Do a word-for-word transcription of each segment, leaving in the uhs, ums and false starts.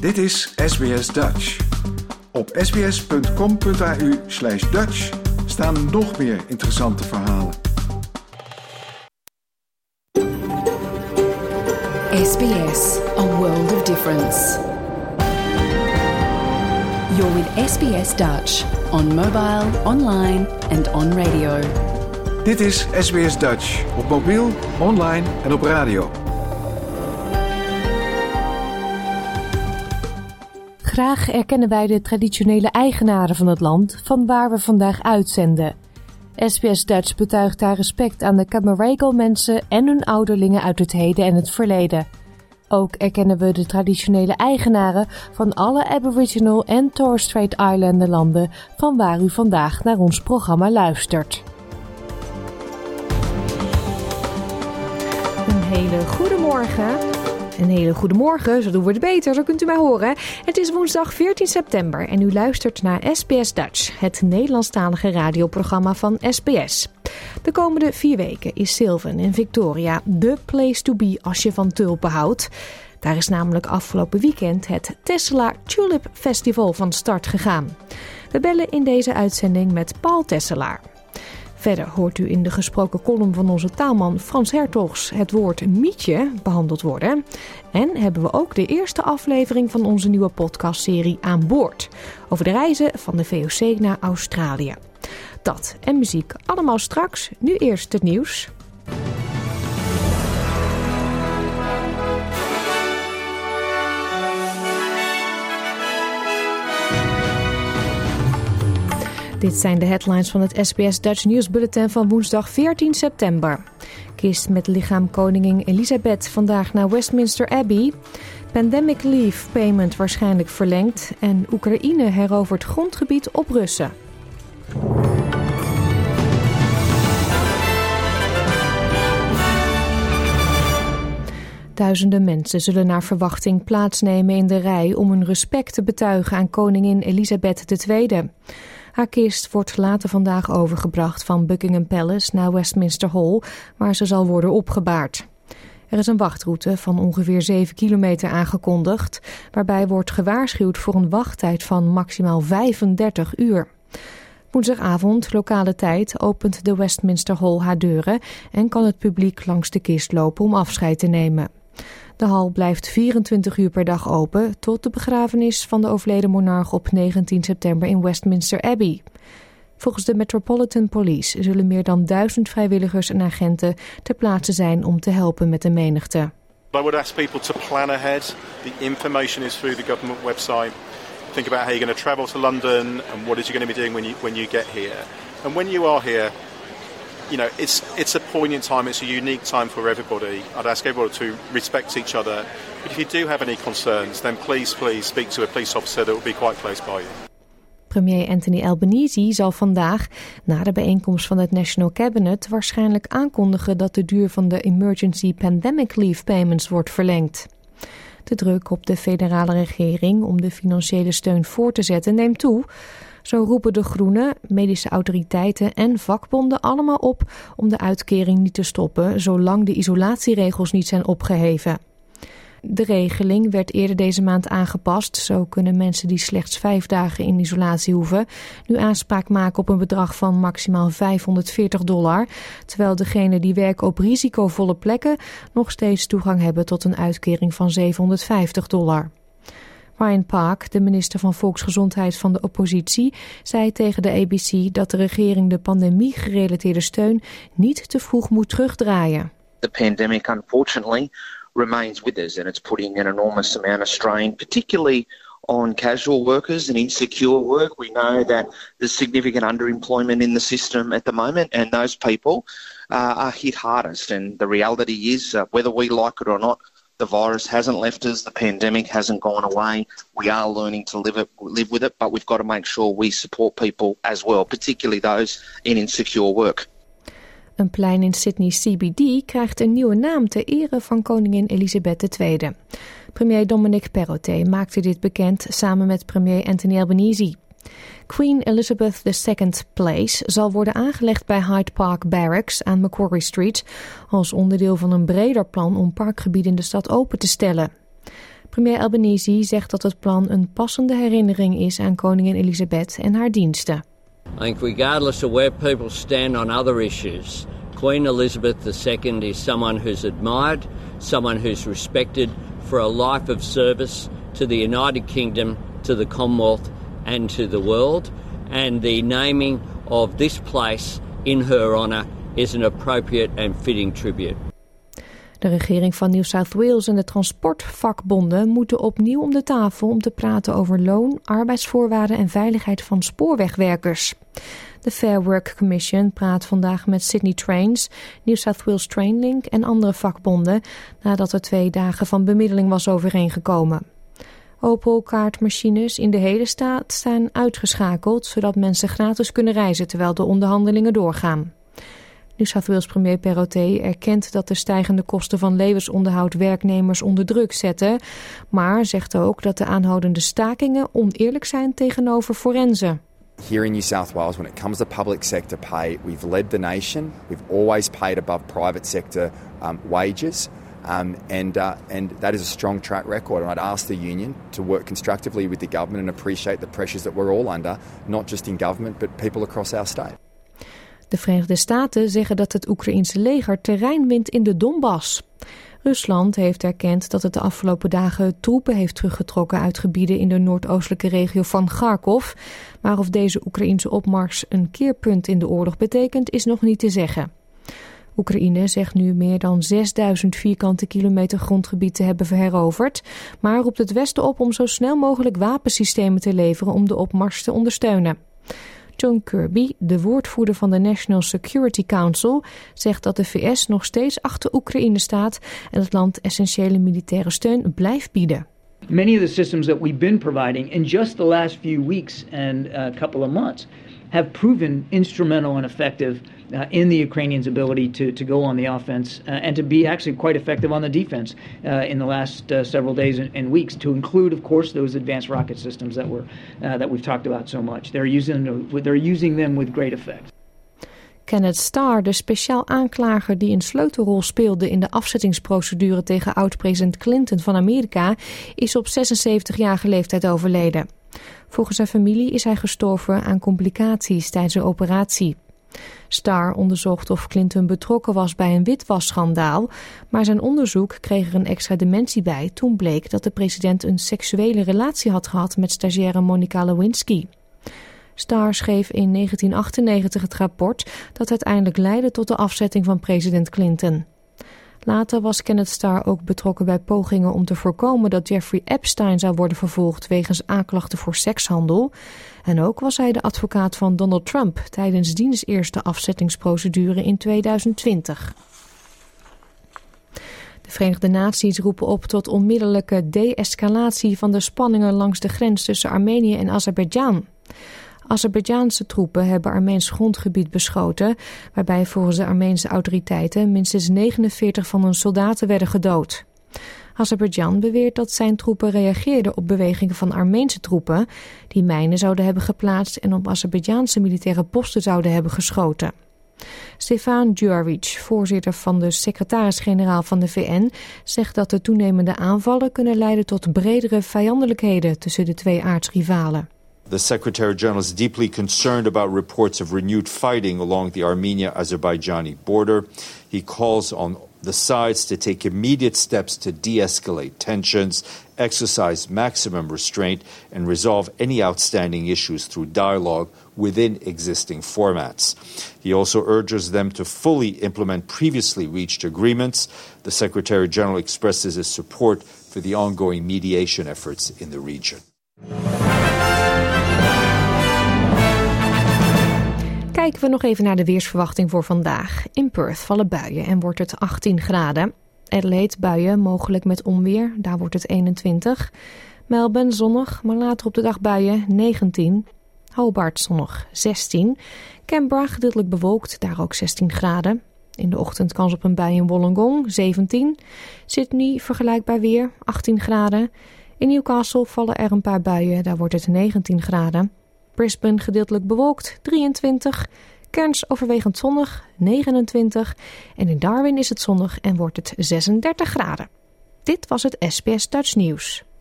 Dit is S B S Dutch. Op sbs.com.au slash Dutch staan nog meer interessante verhalen. S B S, a world of difference. You're with S B S Dutch on mobile, online and on radio. Dit is S B S Dutch op mobiel, online en op radio. Graag erkennen wij de traditionele eigenaren van het land van waar we vandaag uitzenden. S B S Dutch betuigt daar respect aan de Camaragal mensen en hun ouderlingen uit het heden en het verleden. Ook erkennen we de traditionele eigenaren van alle Aboriginal en Torres Strait Islander landen van waar u vandaag naar ons programma luistert. Een hele goede morgen. Een hele goede morgen, zo doen we het beter, zo kunt u mij horen. Het is woensdag veertien september en u luistert naar S B S Dutch, het Nederlandstalige radioprogramma van S B S. De komende vier weken is Sylvan in Victoria the place to be als je van tulpen houdt. Daar is namelijk afgelopen weekend het Tesselaar Tulip Festival van start gegaan. We bellen in deze uitzending met Paul Tesselaar. Verder hoort u in de gesproken column van onze taalman Frans Hertogs het woord mietje behandeld worden. En hebben we ook de eerste aflevering van onze nieuwe podcastserie Aan Boord. Over de reizen van de V O C naar Australië. Dat en muziek allemaal straks. Nu eerst het nieuws. Dit zijn de headlines van het S B S Dutch nieuwsbulletin van woensdag veertien september. Kist met lichaam koningin Elizabeth vandaag naar Westminster Abbey. Pandemic leave payment waarschijnlijk verlengd. En Oekraïne herovert grondgebied op Russen. Duizenden mensen zullen naar verwachting plaatsnemen in de rij om hun respect te betuigen aan koningin Elizabeth de Tweede. Haar kist wordt later vandaag overgebracht van Buckingham Palace naar Westminster Hall, waar ze zal worden opgebaard. Er is een wachtroute van ongeveer zeven kilometer aangekondigd, waarbij wordt gewaarschuwd voor een wachttijd van maximaal vijfendertig uur. Woensdagavond, lokale tijd, opent de Westminster Hall haar deuren en kan het publiek langs de kist lopen om afscheid te nemen. De hal blijft vierentwintig uur per dag open tot de begrafenis van de overleden monarch op negentien september in Westminster Abbey. Volgens de Metropolitan Police zullen meer dan duizend vrijwilligers en agenten ter plaatse zijn om te helpen met de menigte. I would ask people to plan ahead. The information is through the government website. Think about how you're going to travel to London and what is you going to be doing when you when you get here. And when you are here, you know, it's it's a poignant time, it's a unique time for everybody. I'd ask everybody to respect each other. But if you do have any concerns, then please, please speak to a police officer that will be quite close by you. Premier Anthony Albanese zal vandaag, na de bijeenkomst van het National Cabinet, waarschijnlijk aankondigen dat de duur van de Emergency Pandemic Leave Payments wordt verlengd. De druk op de federale regering om de financiële steun voor te zetten neemt toe. Zo roepen de Groenen, medische autoriteiten en vakbonden allemaal op om de uitkering niet te stoppen zolang de isolatieregels niet zijn opgeheven. De regeling werd eerder deze maand aangepast. Zo kunnen mensen die slechts vijf dagen in isolatie hoeven nu aanspraak maken op een bedrag van maximaal vijfhonderdveertig dollar, terwijl degenen die werken op risicovolle plekken nog steeds toegang hebben tot een uitkering van zevenhonderdvijftig dollar. Ryan Park, de minister van Volksgezondheid van de oppositie, zei tegen de A B C dat de regering de pandemie-gerelateerde steun niet te vroeg moet terugdraaien. The pandemic, unfortunately, remains with us and it's putting an enormous amount of strain, particularly on casual workers and insecure work. We know that there's significant underemployment in the system at the moment and those people uh, are hit hardest. And the reality is, uh, whether we like it or not, the virus hasn't left us, the pandemic hasn't gone away. We are learning to live it, live with it, but we've got to make sure we support people as well, particularly those in insecure work. Een plein in Sydney C B D krijgt een nieuwe naam ter ere van koningin Elizabeth de Tweede. Premier Dominic Perrottet maakte dit bekend samen met premier Anthony Albanese. Queen Elizabeth the Second Place zal worden aangelegd bij Hyde Park Barracks aan Macquarie Street als onderdeel van een breder plan om parkgebieden in de stad open te stellen. Premier Albanese zegt dat het plan een passende herinnering is aan koningin Elizabeth en haar diensten. I think regardless of where people stand on other issues, Queen Elizabeth the Second is someone who's admired, someone who's respected for a life of service to the United Kingdom, to the Commonwealth and to the world. And the naming of this place in her honour is an appropriate and fitting tribute. De regering van New South Wales en de transportvakbonden moeten opnieuw om de tafel om te praten over loon, arbeidsvoorwaarden en veiligheid van spoorwegwerkers. De Fair Work Commission praat vandaag met Sydney Trains, New South Wales Trainlink en andere vakbonden nadat er twee dagen van bemiddeling was overeengekomen. Opel-kaartmachines in de hele staat staan uitgeschakeld, zodat mensen gratis kunnen reizen terwijl de onderhandelingen doorgaan. New South Wales premier Perrottet erkent dat de stijgende kosten van levensonderhoud werknemers onder druk zetten, maar zegt ook dat de aanhoudende stakingen oneerlijk zijn tegenover forensen. Here in New South Wales, when it comes to public sector pay, we've led the nation. We've always paid above private sector um, wages. Um, and, uh, and that is a strong track record. And I'd ask the union to work constructively with the government and appreciate the pressures that we're all under, not just in government, but people across our state. De Verenigde Staten zeggen dat het Oekraïense leger terrein wint in de Donbass. Rusland heeft erkend dat het de afgelopen dagen troepen heeft teruggetrokken uit gebieden in de noordoostelijke regio van Kharkov. Maar of deze Oekraïense opmars een keerpunt in de oorlog betekent, is nog niet te zeggen. Oekraïne zegt nu meer dan zesduizend vierkante kilometer grondgebied te hebben veroverd, maar roept het Westen op om zo snel mogelijk wapensystemen te leveren om de opmars te ondersteunen. John Kirby, de woordvoerder van de National Security Council, zegt dat de V S nog steeds achter Oekraïne staat en het land essentiële militaire steun blijft bieden. Many of the systems that we've been providing in just the last few weeks and a couple of months have proven instrumental and effective uh, in the Ukrainians' ability to, to go on the offense uh, and to be actually quite effective on the defense uh, in the last uh, several days and, and weeks, to include, of course, those advanced rocket systems that, were, uh, that we've talked about so much. They're using, they're using them with great effect. Kenneth Starr, de speciaal aanklager die een sleutelrol speelde in de afzettingsprocedure tegen oud-president Clinton van Amerika, is op zesenzeventigjarige leeftijd overleden. Volgens zijn familie is hij gestorven aan complicaties tijdens een operatie. Starr onderzocht of Clinton betrokken was bij een witwasschandaal, maar zijn onderzoek kreeg er een extra dimensie bij toen bleek dat de president een seksuele relatie had gehad met stagiaire Monica Lewinsky. Starr schreef in negentien achtennegentig het rapport dat uiteindelijk leidde tot de afzetting van president Clinton. Later was Kenneth Starr ook betrokken bij pogingen om te voorkomen dat Jeffrey Epstein zou worden vervolgd wegens aanklachten voor sekshandel. En ook was hij de advocaat van Donald Trump tijdens diens eerste afzettingsprocedure in tweeduizend twintig. De Verenigde Naties roepen op tot onmiddellijke de-escalatie van de spanningen langs de grens tussen Armenië en Azerbeidzjan. Azerbeidzjaanse troepen hebben Armeens grondgebied beschoten, waarbij volgens de Armeense autoriteiten minstens negenenveertig van hun soldaten werden gedood. Azerbeidzjan beweert dat zijn troepen reageerden op bewegingen van Armeense troepen, die mijnen zouden hebben geplaatst en op Azerbeidzjaanse militaire posten zouden hebben geschoten. Stefan Djuric, voorzitter van de secretaris-generaal van de V N, zegt dat de toenemende aanvallen kunnen leiden tot bredere vijandelijkheden tussen de twee aardsrivalen. The Secretary-General is deeply concerned about reports of renewed fighting along the Armenia-Azerbaijani border. He calls on the sides to take immediate steps to de-escalate tensions, exercise maximum restraint, and resolve any outstanding issues through dialogue within existing formats. He also urges them to fully implement previously reached agreements. The Secretary-General expresses his support for the ongoing mediation efforts in the region. Kijken we nog even naar de weersverwachting voor vandaag. In Perth vallen buien en wordt het achttien graden. Adelaide buien, mogelijk met onweer, daar wordt het eenentwintig. Melbourne zonnig, maar later op de dag buien, negentien. Hobart zonnig, zestien. Canberra gedeeltelijk bewolkt, daar ook zestien graden. In de ochtend kans op een bui in Wollongong, zeventien. Sydney vergelijkbaar weer, achttien graden. In Newcastle vallen er een paar buien, daar wordt het negentien graden. Brisbane gedeeltelijk bewolkt, drieëntwintig. Cairns overwegend zonnig, negenentwintig. En in Darwin is het zonnig en wordt het zesendertig graden. Dit was het S B S Dutch Nieuws.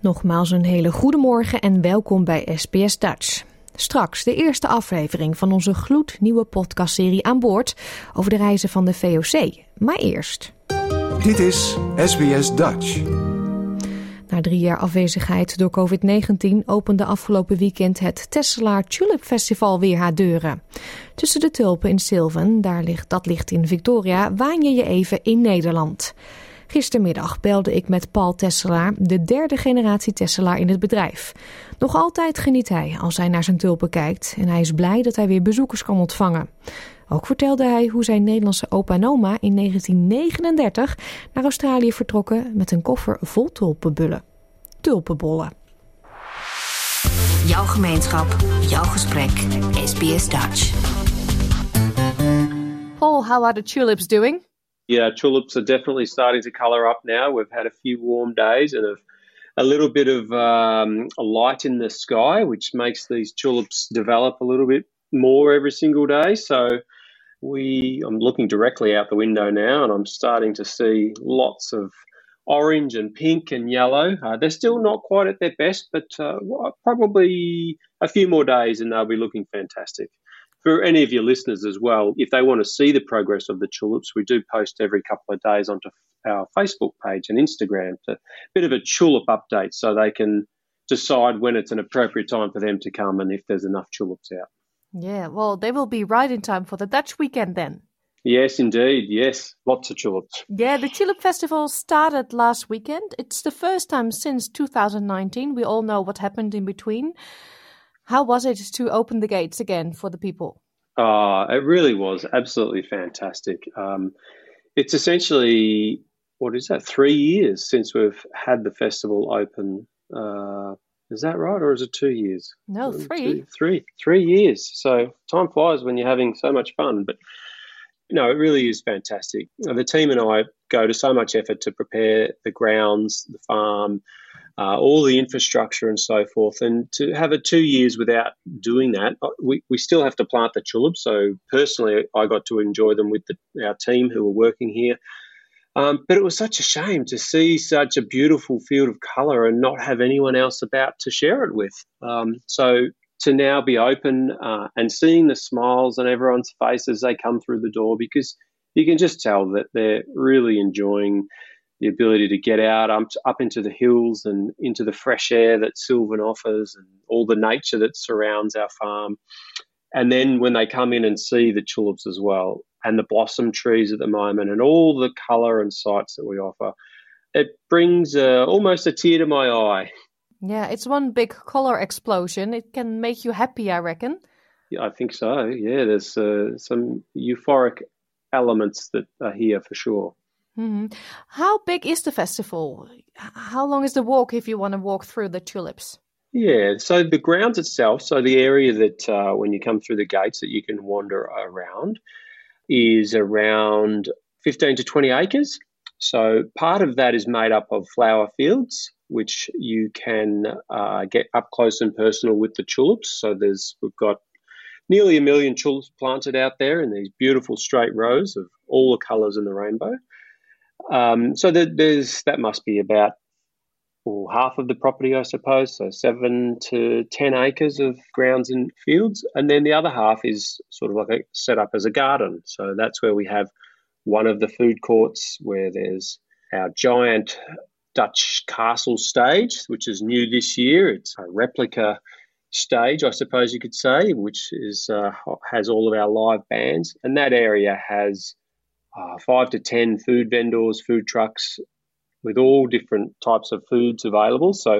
Nogmaals een hele goede morgen en welkom bij S B S Dutch. Straks de eerste aflevering van onze gloednieuwe podcastserie Aan Boord over de reizen van de V O C. Maar eerst. Dit is S B S Dutch. Na drie jaar afwezigheid door covid negentien opende afgelopen weekend het Tesselaar Tulip Festival weer haar deuren. Tussen de tulpen in Sylvan, daar ligt, dat ligt in Victoria, waan je je even in Nederland. Gistermiddag belde ik met Paul Tesselaar, de derde generatie Tesselaar in het bedrijf. Nog altijd geniet hij als hij naar zijn tulpen kijkt en hij is blij dat hij weer bezoekers kan ontvangen. Ook vertelde hij hoe zijn Nederlandse opa en oma in negentien negenendertig naar Australië vertrokken met een koffer vol tulpenbullen. Tulpenbollen. Jouw gemeenschap, jouw gesprek, S B S Dutch. Paul, how are the tulips doing? Yeah, tulips are definitely starting to colour up now. We've had a few warm days and a, a little bit of um, a light in the sky, which makes these tulips develop a little bit more every single day. So we, I'm looking directly out the window now and I'm starting to see lots of orange and pink and yellow. Uh, they're still not quite at their best, but uh, probably a few more days and they'll be looking fantastic. For any of your listeners as well, if they want to see the progress of the tulips, we do post every couple of days onto our Facebook page and Instagram. It's a bit of a tulip update so they can decide when it's an appropriate time for them to come and if there's enough tulips out. Yeah, well, they will be right in time for the Dutch weekend then. Yes, indeed. Yes, lots of tulips. Yeah, the Tulip Festival started last weekend. It's the first time since two thousand nineteen. We all know what happened in between. How was it to open the gates again for the people? Oh, it really was absolutely fantastic. Um, it's essentially, what is that, three years since we've had the festival open. Uh, is that right, or is it two years? No, One, three. Two, three. Three years. So time flies when you're having so much fun. But, you know, it really is fantastic. The team and I go to so much effort to prepare the grounds, the farm, Uh, all the infrastructure and so forth. And to have it two years without doing that, we, we still have to plant the tulips. So personally, I got to enjoy them with the, our team who were working here. Um, but it was such a shame to see such a beautiful field of colour and not have anyone else about to share it with. Um, so to now be open uh, and seeing the smiles on everyone's face as they come through the door, because you can just tell that they're really enjoying the ability to get out um, up into the hills and into the fresh air that Sylvan offers and all the nature that surrounds our farm. And then when they come in and see the tulips as well and the blossom trees at the moment and all the colour and sights that we offer, it brings uh, almost a tear to my eye. Yeah, it's one big colour explosion. It can make you happy, I reckon. Yeah, I think so. Yeah, there's uh, some euphoric elements that are here for sure. Mm-hmm. How big is the festival? How long is the walk if you want to walk through the tulips? Yeah, so the grounds itself, so the area that uh, when you come through the gates that you can wander around is around fifteen to twenty acres. So part of that is made up of flower fields, which you can uh, get up close and personal with the tulips. So there's we've got nearly a million tulips planted out there in these beautiful straight rows of all the colours in the rainbow. Um, so that there's that must be about well, half of the property, I suppose, so seven to ten acres of grounds and fields, and then the other half is sort of like a, set up as a garden. So that's where we have one of the food courts where there's our giant Dutch castle stage, which is new this year. It's a replica stage, I suppose you could say, which is uh, has all of our live bands, and that area has Uh, five to ten food vendors, food trucks with all different types of foods available. So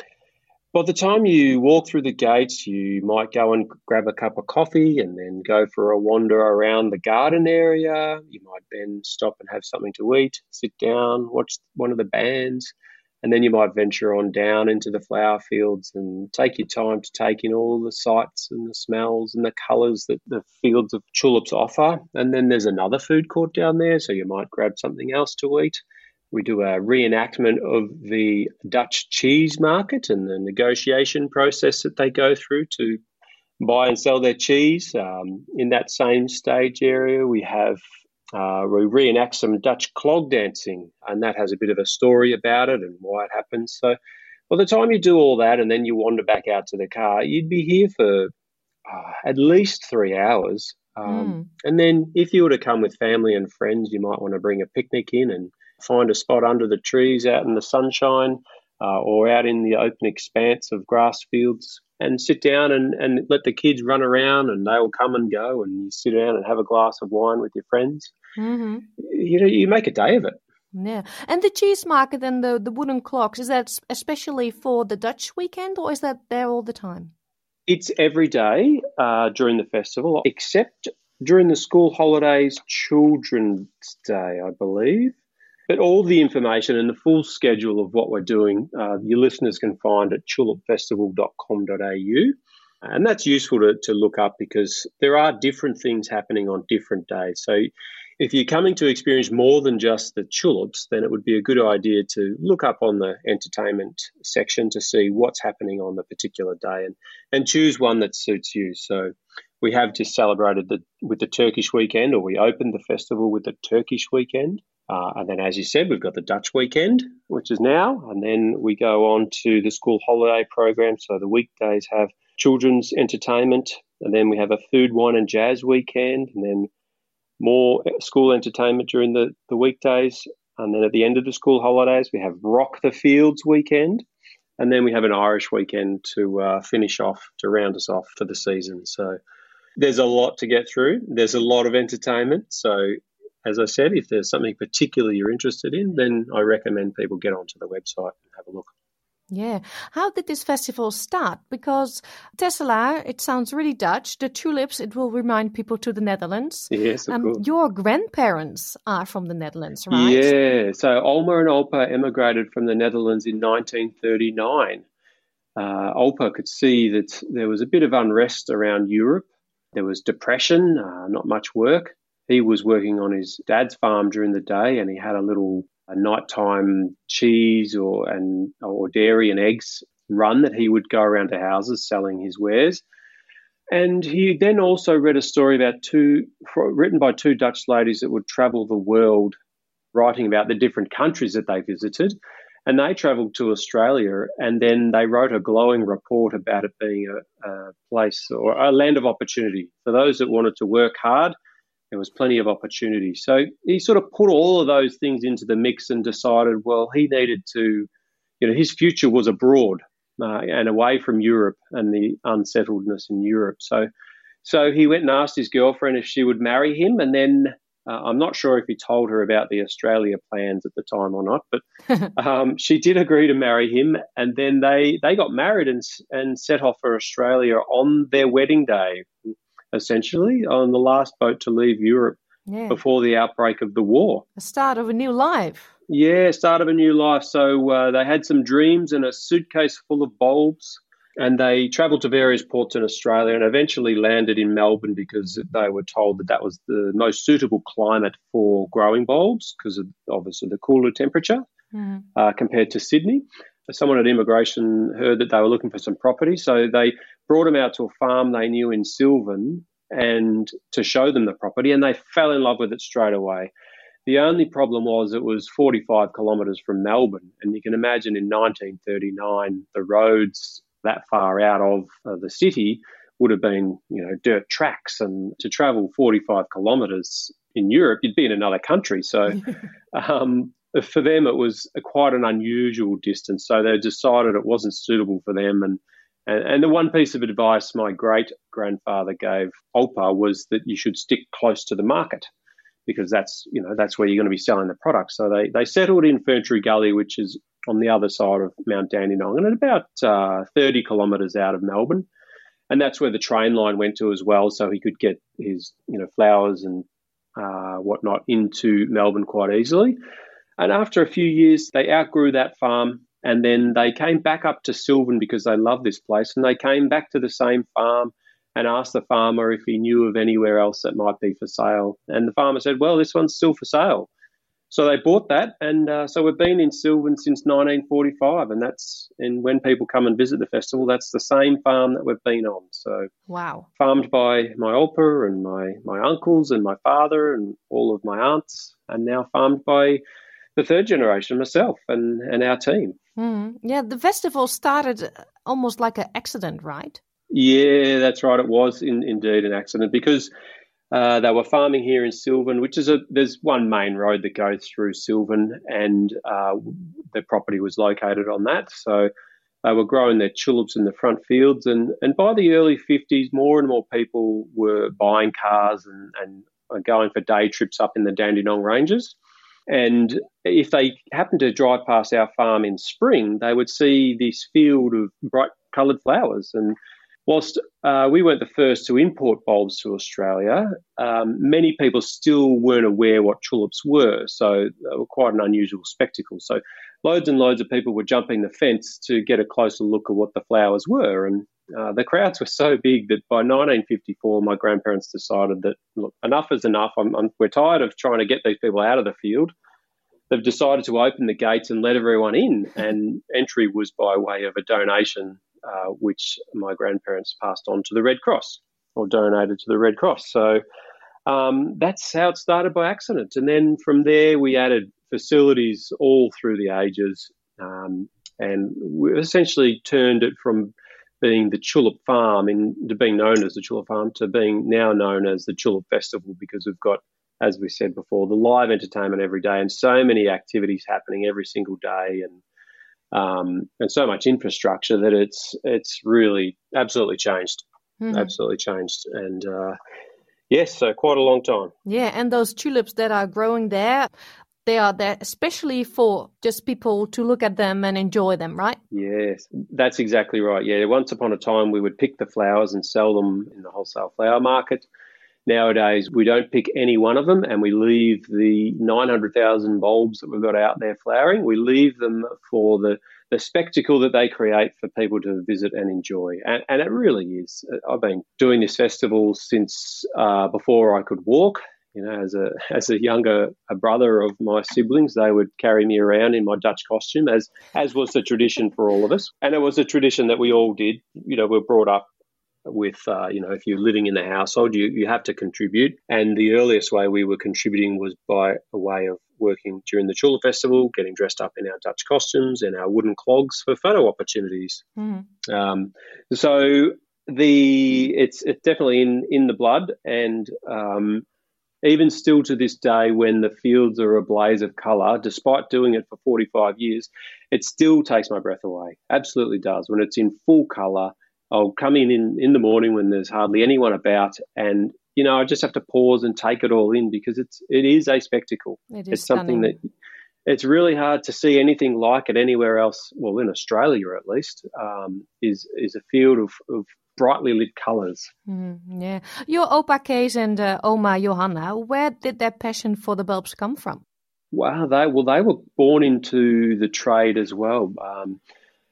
by the time you walk through the gates, you might go and grab a cup of coffee and then go for a wander around the garden area. You might then stop and have something to eat, sit down, watch one of the bands, and then you might venture on down into the flower fields and take your time to take in all the sights and the smells and the colours that the fields of tulips offer. And then there's another food court down there, so you might grab something else to eat. We do a reenactment of the Dutch cheese market and the negotiation process that they go through to buy and sell their cheese. Um, in that same stage area, we have uh, we reenact some Dutch clog dancing, and that has a bit of a story about it and why it happens. So By the time you do all that and then you wander back out to the car, you'd be here for uh, at least three hours. Um, Mm. And then if you were to come with family and friends, you might want to bring a picnic in and find a spot under the trees out in the sunshine uh, or out in the open expanse of grass fields and sit down and, and let the kids run around and they'll come and go and you sit down and have a glass of wine with your friends. Hmm. You know, you make a day of it. Yeah. And the cheese market and the, the wooden clocks, is that s- especially for the Dutch weekend or is that there all the time? It's every day uh, during the festival, except during the school holidays, Children's Day, I believe. But all the information and the full schedule of what we're doing, uh, your listeners can find at tulip festival dot com dot a u. And that's useful to, to look up because there are different things happening on different days. So if you're coming to experience more than just the tulips, then it would be a good idea to look up on the entertainment section to see what's happening on the particular day and, and choose one that suits you. So we have just celebrated the, with the Turkish weekend, or we opened the festival with the Turkish weekend. Uh, and then, as you said, we've got the Dutch weekend, which is now. And then we go on to the school holiday program. So the weekdays have children's entertainment. And then we have a food, wine and jazz weekend. And then more school entertainment during the, the weekdays. And then at the end of the school holidays, we have Rock the Fields weekend. And then we have an Irish weekend to uh, finish off, to round us off for the season. So there's a lot to get through. There's a lot of entertainment. So as I said, if there's something particular you're interested in, then I recommend people get onto the website and have a look. Yeah. How did this festival start? Because Tesselaar, it sounds really Dutch. The tulips, it will remind people to the Netherlands. Yes, of course. Your grandparents are from the Netherlands, right? Yeah. So Olma and Olpa emigrated from the Netherlands in nineteen thirty-nine. Uh, Olpa could see that there was a bit of unrest around Europe. There was depression, uh, not much work. He was working on his dad's farm during the day and he had a little a nighttime cheese or and or dairy and eggs run that he would go around to houses selling his wares. And he then also read a story about two written by two Dutch ladies that would travel the world writing about the different countries that they visited. And they travelled to Australia and then they wrote a glowing report about it being a, a place or a land of opportunity for those that wanted to work hard. There was plenty of opportunity. So he sort of put all of those things into the mix and decided, well, he needed to, you know, his future was abroad uh, and away from Europe and the unsettledness in Europe. So so he went and asked his girlfriend if she would marry him. And then uh, I'm not sure if he told her about the Australia plans at the time or not, but um, she did agree to marry him. And then they, they got married and and set off for Australia on their wedding day, essentially, on the last boat to leave Europe Yeah. before the outbreak of the war. The start of a new life. Yeah, start of a new life. So uh, they had some dreams and a suitcase full of bulbs, and they travelled to various ports in Australia and eventually landed in Melbourne because they were told that that was the most suitable climate for growing bulbs because of obviously the cooler temperature Mhm. uh, compared to Sydney. Someone at immigration heard that they were looking for some property, so they brought them out to a farm they knew in Sylvan and to show them the property, and they fell in love with it straight away. The only problem was it was forty-five kilometres from Melbourne, and you can imagine in nineteen thirty-nine the roads that far out of uh, the city would have been, you know, dirt tracks, and to travel forty-five kilometres in Europe, you'd be in another country. So um, for them, it was a, quite an unusual distance. So they decided it wasn't suitable for them. And, and, and the one piece of advice my great-grandfather gave Olpa was that you should stick close to the market because that's, you know, that's where you're going to be selling the product. So they, they settled in Ferntree Gully, which is on the other side of Mount Dandenong and at about uh, thirty kilometres out of Melbourne. And that's where the train line went to as well, so he could get his, you know, flowers and uh, whatnot into Melbourne quite easily. And after a few years, they outgrew that farm, and then they came back up to Sylvan because they loved this place, and they came back to the same farm and asked the farmer if he knew of anywhere else that might be for sale. And the farmer said, well, this one's still for sale. So they bought that, and uh, so we've been in Sylvan since nineteen forty-five, and that's and when people come and visit the festival, that's the same farm that we've been on. So Wow. farmed by my Olpa and my, my uncles and my father and all of my aunts, and now farmed by the third generation, myself and, and our team. Mm. Yeah, the festival started almost like an accident, right? Yeah, that's right. It was in, indeed an accident because uh, they were farming here in Sylvan, which is a there's one main road that goes through Sylvan, and uh, the property was located on that. So they were growing their tulips in the front fields, and, and by the early fifties, more and more people were buying cars and, and going for day trips up in the Dandenong Ranges. And if they happened to drive past our farm in spring, they would see this field of bright coloured flowers. And whilst uh, we weren't the first to import bulbs to Australia, um, many people still weren't aware what tulips were. So they were quite an unusual spectacle. So loads and loads of people were jumping the fence to get a closer look at what the flowers were. And uh, the crowds were so big that by nineteen fifty-four, my grandparents decided that, look, enough is enough. I'm, I'm, we're tired of trying to get these people out of the field. They've decided to open the gates and let everyone in. And entry was by way of a donation, uh, which my grandparents passed on to the Red Cross or donated to the Red Cross. So um, that's how it started by accident. And then from there, we added facilities all through the ages, um, and we essentially turned it from being the Tulip Farm in, to being known as the Tulip Farm to being now known as the Tulip Festival, because we've got, as we said before, the live entertainment every day and so many activities happening every single day, and um, and so much infrastructure that it's it's really absolutely changed, mm-hmm. absolutely changed. And uh, yes, so quite a long time. Yeah, and those tulips that are growing there, they are there especially for just people to look at them and enjoy them, right? Yes, that's exactly right. Yeah, once upon a time we would pick the flowers and sell them in the wholesale flower market. Nowadays, we don't pick any one of them, and we leave the nine hundred thousand bulbs that we've got out there flowering. We leave them for the, the spectacle that they create for people to visit and enjoy. And, and it really is. I've been doing this festival since uh, before I could walk. You know, as a as a younger a brother of my siblings, they would carry me around in my Dutch costume, as as was the tradition for all of us. And it was a tradition that we all did. You know, we were brought up with, uh, you know, if you're living in the household, you, you have to contribute. And the earliest way we were contributing was by a way of working during the Tulip Festival, getting dressed up in our Dutch costumes and our wooden clogs for photo opportunities. Mm. Um, so the it's it's definitely in, in the blood, and um, even still to this day, when the fields are ablaze of colour, despite doing it for forty-five years, it still takes my breath away. Absolutely does. When it's in full colour, I'll come in, in in the morning when there's hardly anyone about, and you know I just have to pause and take it all in, because it's it is a spectacle. It is it's stunning. Something that it's really hard to see anything like it anywhere else. Well, in Australia at least, um, is is a field of, of brightly lit colours. Mm, yeah, your Opa Kees and uh, Oma Johanna, where did their passion for the bulbs come from? Wow, they well they were born into the trade as well. Um,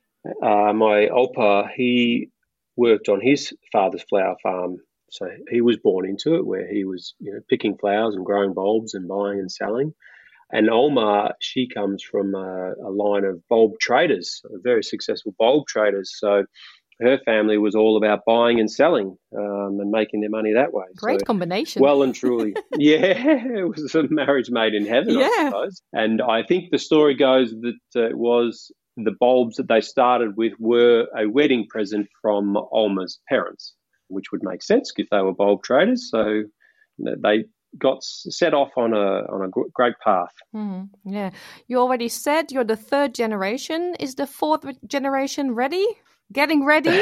uh, my Opa, he worked on his father's flower farm, so he was born into it, where he was, you know, picking flowers and growing bulbs and buying and selling. And Oma, she comes from a, a line of bulb traders, very successful bulb traders. So her family was all about buying and selling um, and making their money that way. Great so, combination. Well and truly. Yeah, it was a marriage made in heaven, yeah. I suppose. And I think the story goes that uh, it was the bulbs that they started with were a wedding present from Oma's parents, which would make sense if they were bulb traders. So they got set off on a on a great path. Mm, yeah. You already said you're the third generation. Is the fourth generation ready? Getting ready?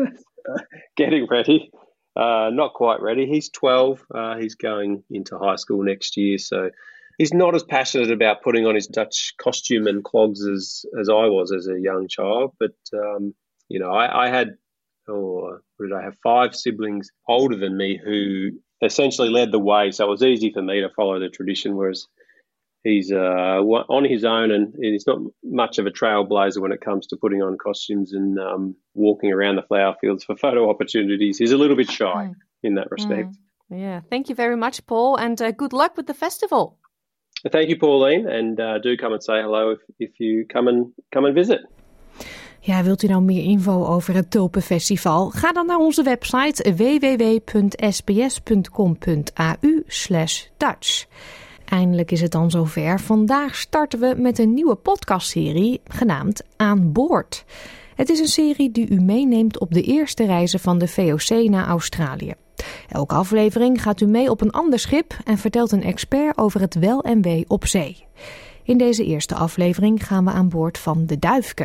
Getting ready. Uh, not quite ready. He's twelve. Uh, he's going into high school next year, so he's not as passionate about putting on his Dutch costume and clogs as, as I was as a young child. But, um, you know, I, I had, oh, what did I have, five siblings older than me who essentially led the way. So it was easy for me to follow the tradition, whereas he's uh, on his own, and he's not much of a trailblazer when it comes to putting on costumes and um, walking around the flower fields for photo opportunities. He's a little bit shy mm. in that respect. Mm. Yeah, thank you very much, Paul, and uh, good luck with the festival. Thank you, Pauline, and uh, do come and say hello if, if you come and come and visit. Ja, wilt u nou meer info over het Tulpenfestival? Ga dan naar onze website w w w punt s b s punt com punt a u slash Dutch. Eindelijk is het dan zover. Vandaag starten we met een nieuwe podcastserie genaamd Aan Boord. Het is een serie die u meeneemt op de eerste reizen van de V O C naar Australië. Elke aflevering gaat u mee op een ander schip en vertelt een expert over het wel en wee op zee. In deze eerste aflevering gaan we aan boord van de Duifke.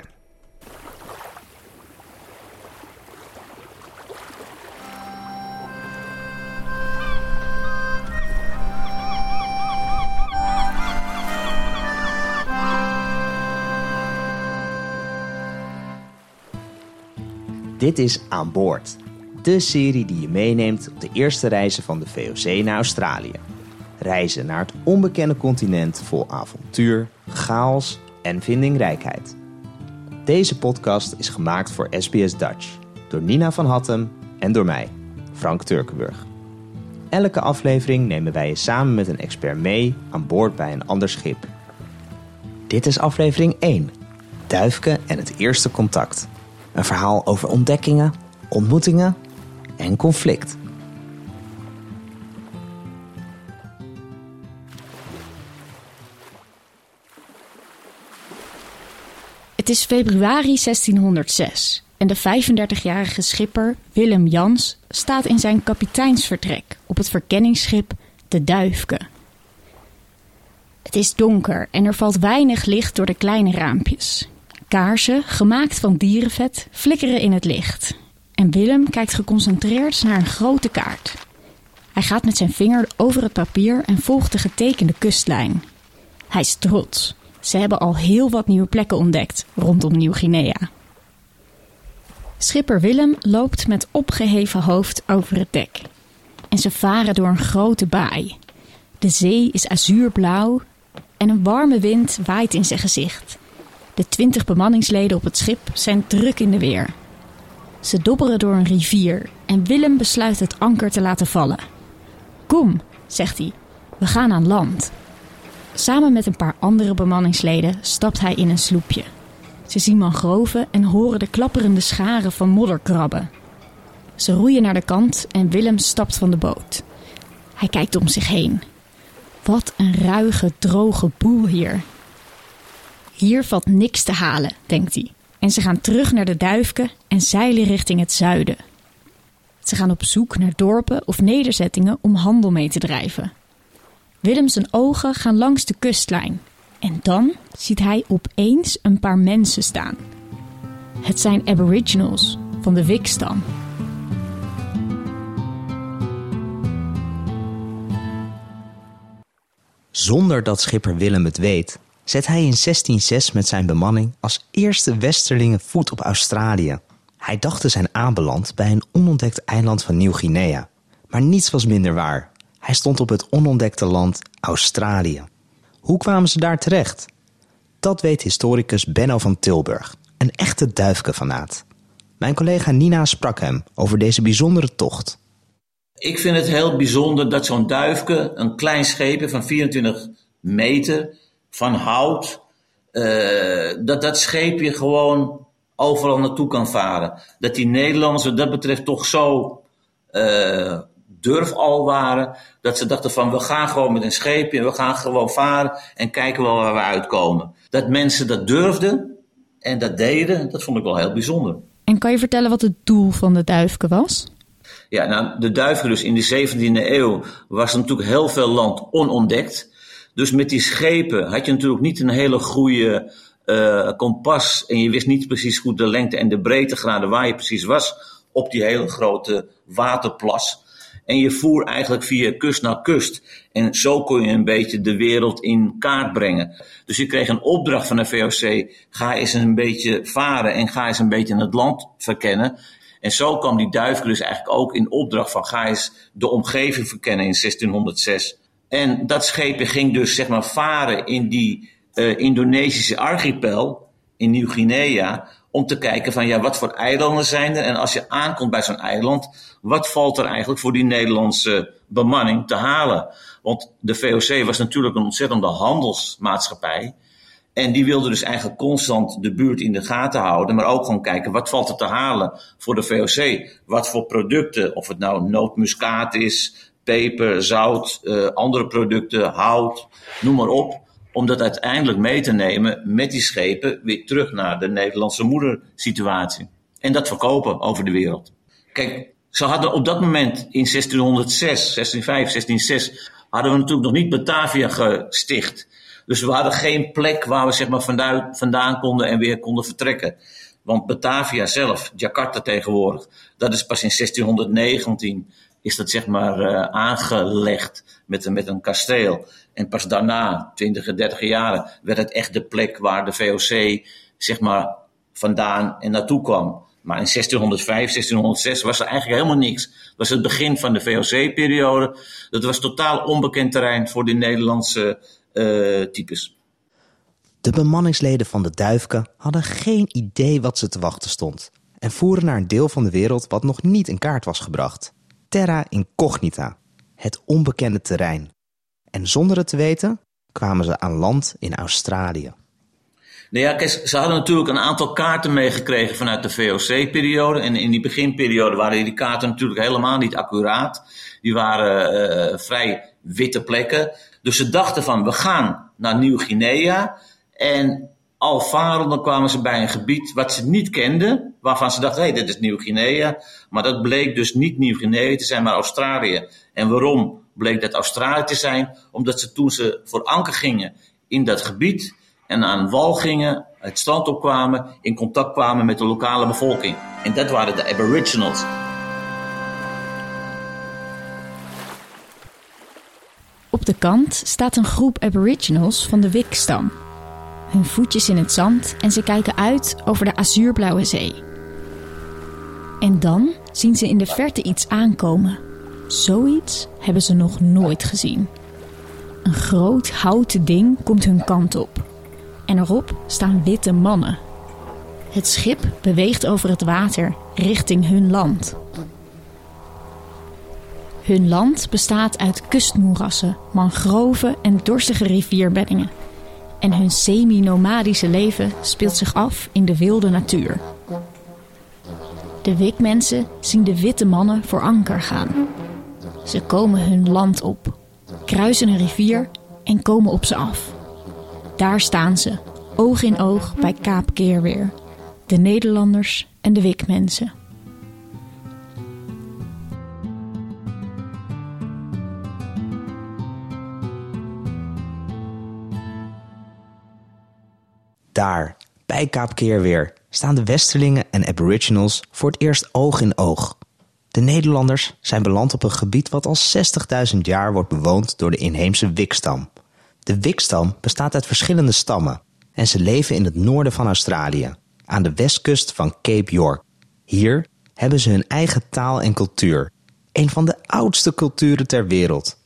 Dit is Aan Boord, de serie die je meeneemt op de eerste reizen van de V O C naar Australië. Reizen naar het onbekende continent vol avontuur, chaos en vindingrijkheid. Deze podcast is gemaakt voor S B S Dutch door Nina van Hattem en door mij, Frank Turkenburg. Elke aflevering nemen wij je samen met een expert mee aan boord bij een ander schip. Dit is aflevering één, Duifke en het eerste contact. Een verhaal over ontdekkingen, ontmoetingen en conflict. Het is februari zestienhonderdzes en de vijfendertigjarige schipper Willem Jans staat in zijn kapiteinsvertrek op het verkenningsschip de Duifke. Het is donker en er valt weinig licht door de kleine raampjes. Kaarsen, gemaakt van dierenvet, flikkeren in het licht. En Willem kijkt geconcentreerd naar een grote kaart. Hij gaat met zijn vinger over het papier en volgt de getekende kustlijn. Hij is trots. Ze hebben al heel wat nieuwe plekken ontdekt rondom Nieuw-Guinea. Schipper Willem loopt met opgeheven hoofd over het dek. En ze varen door een grote baai. De zee is azuurblauw en een warme wind waait in zijn gezicht. De twintig bemanningsleden op het schip zijn druk in de weer. Ze dobberen door een rivier en Willem besluit het anker te laten vallen. Kom, zegt hij, we gaan aan land. Samen met een paar andere bemanningsleden stapt hij in een sloepje. Ze zien mangroven en horen de klapperende scharen van modderkrabben. Ze roeien naar de kant en Willem stapt van de boot. Hij kijkt om zich heen. Wat een ruige, droge boel hier. Hier valt niks te halen, denkt hij. En ze gaan terug naar de Duifke en zeilen richting het zuiden. Ze gaan op zoek naar dorpen of nederzettingen om handel mee te drijven. Willem zijn ogen gaan langs de kustlijn. En dan ziet hij opeens een paar mensen staan. Het zijn aboriginals van de Wik-stam. Zonder dat schipper Willem het weet, zet hij in zestien zes met zijn bemanning als eerste westerlingen voet op Australië. Hij dacht te zijn aanbeland bij een onontdekt eiland van Nieuw-Guinea. Maar niets was minder waar. Hij stond op het onontdekte land Australië. Hoe kwamen ze daar terecht? Dat weet historicus Benno van Tilburg, een echte Duifke-fanaat. Mijn collega Nina sprak hem over deze bijzondere tocht. Ik vind het heel bijzonder dat zo'n Duifke, een klein scheepje van vierentwintig meter, van hout, uh, dat dat scheepje gewoon overal naartoe kan varen. Dat die Nederlanders wat dat betreft toch zo uh, durf al waren, dat ze dachten van we gaan gewoon met een scheepje en we gaan gewoon varen en kijken wel waar we uitkomen. Dat mensen dat durfden en dat deden, dat vond ik wel heel bijzonder. En kan je vertellen wat het doel van de Duifke was? Ja, nou, de Duifke dus in de zeventiende eeuw was natuurlijk heel veel land onontdekt. Dus met die schepen had je natuurlijk niet een hele goede uh, kompas en je wist niet precies goed de lengte en de breedtegraden waar je precies was op die hele grote waterplas. En je voer eigenlijk via kust naar kust. En zo kon je een beetje de wereld in kaart brengen. Dus je kreeg een opdracht van de V O C. Ga eens een beetje varen en ga eens een beetje het land verkennen. En zo kwam die Duifke dus eigenlijk ook in opdracht van ga eens de omgeving verkennen in zestienhonderdzes. En dat scheepje ging dus zeg maar varen in die uh, Indonesische archipel in Nieuw-Guinea om te kijken van ja, wat voor eilanden zijn er? En als je aankomt bij zo'n eiland, wat valt er eigenlijk voor die Nederlandse bemanning te halen? Want de V O C was natuurlijk een ontzettende handelsmaatschappij. En die wilde dus eigenlijk constant de buurt in de gaten houden, maar ook gewoon kijken wat valt er te halen voor de V O C. Wat voor producten, of het nou nootmuskaat is, peper, zout, uh, andere producten, hout, noem maar op. Om dat uiteindelijk mee te nemen met die schepen weer terug naar de Nederlandse moedersituatie. En dat verkopen over de wereld. Kijk, ze hadden op dat moment in zestienhonderdzes, zestienhonderdvijf, zestienhonderdzes... hadden we natuurlijk nog niet Batavia gesticht. Dus we hadden geen plek waar we zeg maar vandaan, vandaan konden en weer konden vertrekken. Want Batavia zelf, Jakarta tegenwoordig, dat is pas in zestienhonderdnegentien is dat zeg maar uh, aangelegd met, met een kasteel. En pas daarna, twintig, dertig jaren, werd het echt de plek waar de V O C zeg maar vandaan en naartoe kwam. Maar in zestienhonderdvijf, zestienhonderdzes was er eigenlijk helemaal niks. Dat was het begin van de V O C-periode. Dat was totaal onbekend terrein voor de Nederlandse uh, types. De bemanningsleden van de Duifke hadden geen idee wat ze te wachten stond. En voeren naar een deel van de wereld wat nog niet in kaart was gebracht. Terra incognita, het onbekende terrein. En zonder het te weten kwamen ze aan land in Australië. Nou ja, kijk, ze hadden natuurlijk een aantal kaarten meegekregen vanuit de V O C-periode. En in die beginperiode waren die kaarten natuurlijk helemaal niet accuraat. Die waren uh, vrij witte plekken. Dus ze dachten van, we gaan naar Nieuw-Guinea. En al varende kwamen ze bij een gebied wat ze niet kenden. Waarvan ze dachten, hé, hey, dit is Nieuw-Guinea. Maar dat bleek dus niet Nieuw-Guinea te zijn, maar Australië. En waarom bleek dat Australië te zijn? Omdat ze toen ze voor anker gingen in dat gebied en aan wal gingen, het strand opkwamen, in contact kwamen met de lokale bevolking. En dat waren de Aboriginals. Op de kant staat een groep Aboriginals van de Wik-stam. Hun voetjes in het zand en ze kijken uit over de azuurblauwe zee. En dan zien ze in de verte iets aankomen. Zoiets hebben ze nog nooit gezien. Een groot houten ding komt hun kant op. En erop staan witte mannen. Het schip beweegt over het water richting hun land. Hun land bestaat uit kustmoerassen, mangroven en dorstige rivierbeddingen. En hun semi-nomadische leven speelt zich af in de wilde natuur. De Wik-mensen zien de witte mannen voor anker gaan. Ze komen hun land op, kruisen een rivier en komen op ze af. Daar staan ze, oog in oog bij Kaap Keerweer. De Nederlanders en de Wik-mensen. Daar, bij Kaap Keerweer, staan de Westerlingen en Aboriginals voor het eerst oog in oog. De Nederlanders zijn beland op een gebied wat al zestigduizend jaar wordt bewoond door de inheemse Wik-stam. De Wik-stam bestaat uit verschillende stammen en ze leven in het noorden van Australië, aan de westkust van Cape York. Hier hebben ze hun eigen taal en cultuur, een van de oudste culturen ter wereld.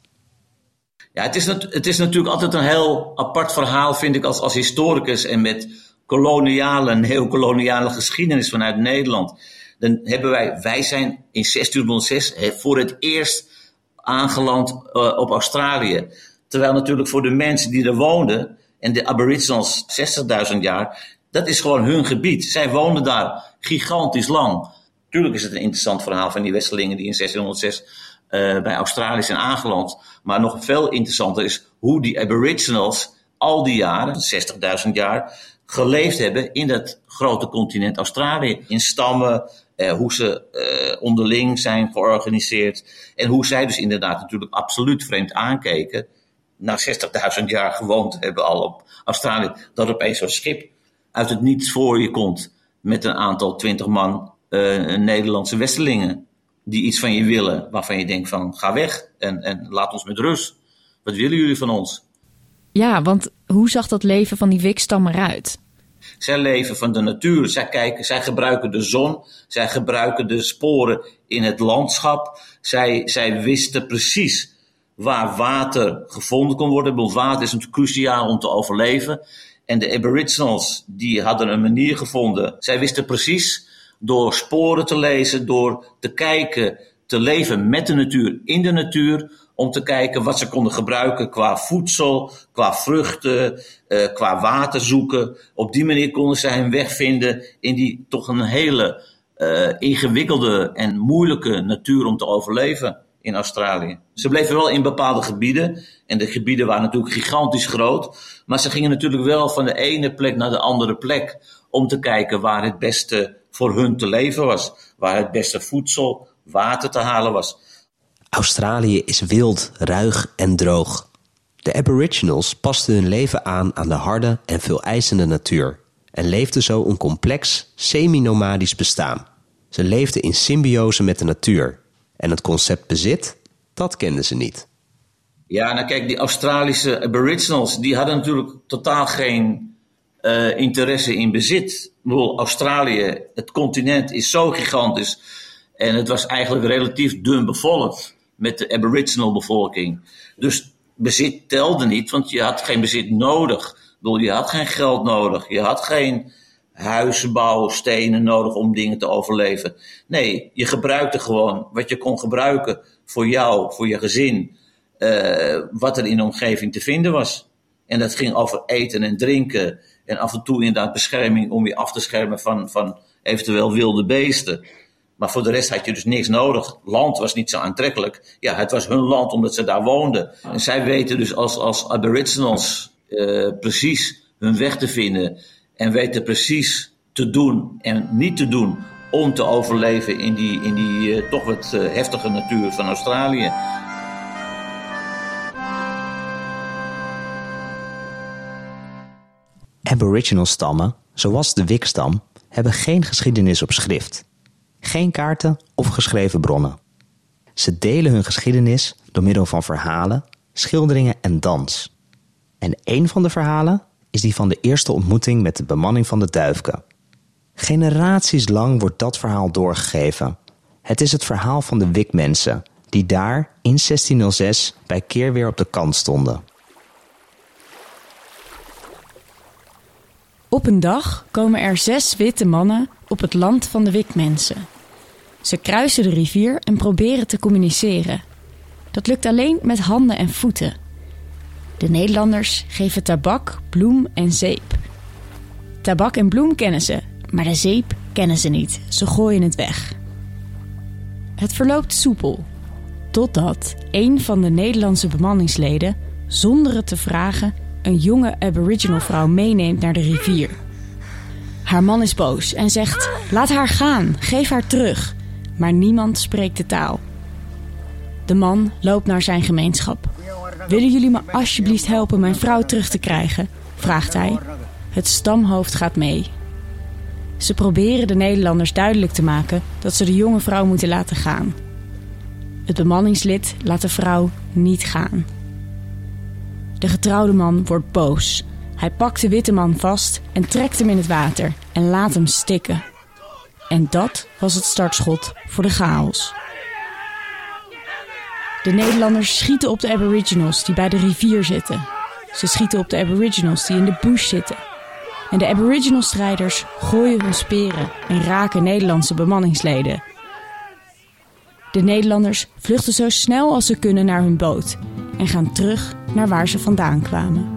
Ja, het is, het is natuurlijk altijd een heel apart verhaal, vind ik, als, als historicus en met koloniale, neocoloniale geschiedenis vanuit Nederland. Dan hebben wij, wij zijn in zestienhonderdzes voor het eerst aangeland uh, op Australië. Terwijl natuurlijk voor de mensen die er woonden, en de Aboriginals zestigduizend jaar, dat is gewoon hun gebied. Zij woonden daar gigantisch lang. Tuurlijk is het een interessant verhaal van die Westerlingen die in zestienhonderdzes uh, bij Australië zijn aangeland. Maar nog veel interessanter is hoe die Aboriginals al die jaren, zestigduizend jaar, geleefd hebben in dat grote continent Australië. In stammen, eh, hoe ze eh, onderling zijn georganiseerd. En hoe zij dus inderdaad natuurlijk absoluut vreemd aankeken. Na zestigduizend jaar gewoond hebben al op Australië. Dat opeens zo'n schip uit het niets voor je komt. Met een aantal twintig man uh, Nederlandse Westerlingen. Die iets van je willen. Waarvan je denkt van ga weg en, en laat ons met rust. Wat willen jullie van ons? Ja, want hoe zag dat leven van die Wik-stam eruit? Zij leven van de natuur. Zij, kijken, zij gebruiken de zon. Zij gebruiken de sporen in het landschap. Zij, zij wisten precies waar water gevonden kon worden. Want water is natuurlijk cruciaal om te overleven. En de Aboriginals die hadden een manier gevonden. Zij wisten precies door sporen te lezen, door te kijken, te leven met de natuur, in de natuur, om te kijken wat ze konden gebruiken qua voedsel, qua vruchten, uh, qua water zoeken. Op die manier konden zij hun weg vinden in die toch een hele uh, ingewikkelde en moeilijke natuur om te overleven in Australië. Ze bleven wel in bepaalde gebieden. En de gebieden waren natuurlijk gigantisch groot. Maar ze gingen natuurlijk wel van de ene plek naar de andere plek. Om te kijken waar het beste voor hun te leven was. Waar het beste voedsel, water te halen was. Australië is wild, ruig en droog. De Aboriginals pasten hun leven aan aan de harde en veeleisende natuur. En leefden zo een complex, semi-nomadisch bestaan. Ze leefden in symbiose met de natuur. En het concept bezit, dat kenden ze niet. Ja, nou kijk, die Australische Aboriginals, die hadden natuurlijk totaal geen uh, interesse in bezit. Ik bedoel, Australië, het continent is zo gigantisch. En het was eigenlijk relatief dun bevolkt met de Aboriginal bevolking. Dus bezit telde niet, want je had geen bezit nodig. Ik bedoel, je had geen geld nodig. Je had geen huisbouw, stenen nodig om dingen te overleven. Nee, je gebruikte gewoon wat je kon gebruiken voor jou, voor je gezin. Uh, wat er in de omgeving te vinden was. En dat ging over eten en drinken. En af en toe inderdaad bescherming om je af te schermen van, van eventueel wilde beesten. Maar voor de rest had je dus niks nodig. Land was niet zo aantrekkelijk. Ja, het was hun land omdat ze daar woonden. En zij weten dus als, als Aboriginals uh, precies hun weg te vinden. En weten precies te doen en niet te doen om te overleven in die, in die uh, toch wat uh, heftige natuur van Australië. Aboriginal stammen, zoals de Wik-stam, hebben geen geschiedenis op schrift. Geen kaarten of geschreven bronnen. Ze delen hun geschiedenis door middel van verhalen, schilderingen en dans. En een van de verhalen is die van de eerste ontmoeting met de bemanning van de Duifke. Generaties lang wordt dat verhaal doorgegeven. Het is het verhaal van de Wik-mensen, die daar in zestienhonderdzes bij keer weer op de kant stonden. Op een dag komen er zes witte mannen op het land van de Wik-mensen. Ze kruisen de rivier en proberen te communiceren. Dat lukt alleen met handen en voeten. De Nederlanders geven tabak, bloem en zeep. Tabak en bloem kennen ze, maar de zeep kennen ze niet. Ze gooien het weg. Het verloopt soepel, totdat een van de Nederlandse bemanningsleden, zonder het te vragen, een jonge Aboriginal vrouw meeneemt naar de rivier. Haar man is boos en zegt: laat haar gaan, geef haar terug. Maar niemand spreekt de taal. De man loopt naar zijn gemeenschap. Willen jullie me alsjeblieft helpen mijn vrouw terug te krijgen? Vraagt hij. Het stamhoofd gaat mee. Ze proberen de Nederlanders duidelijk te maken dat ze de jonge vrouw moeten laten gaan. Het bemanningslid laat de vrouw niet gaan. De getrouwde man wordt boos. Hij pakt de witte man vast en trekt hem in het water en laat hem stikken. En dat was het startschot voor de chaos. De Nederlanders schieten op de Aboriginals die bij de rivier zitten. Ze schieten op de Aboriginals die in de bush zitten. En de Aboriginal-strijders gooien hun speren en raken Nederlandse bemanningsleden. De Nederlanders vluchten zo snel als ze kunnen naar hun boot en gaan terug naar waar ze vandaan kwamen.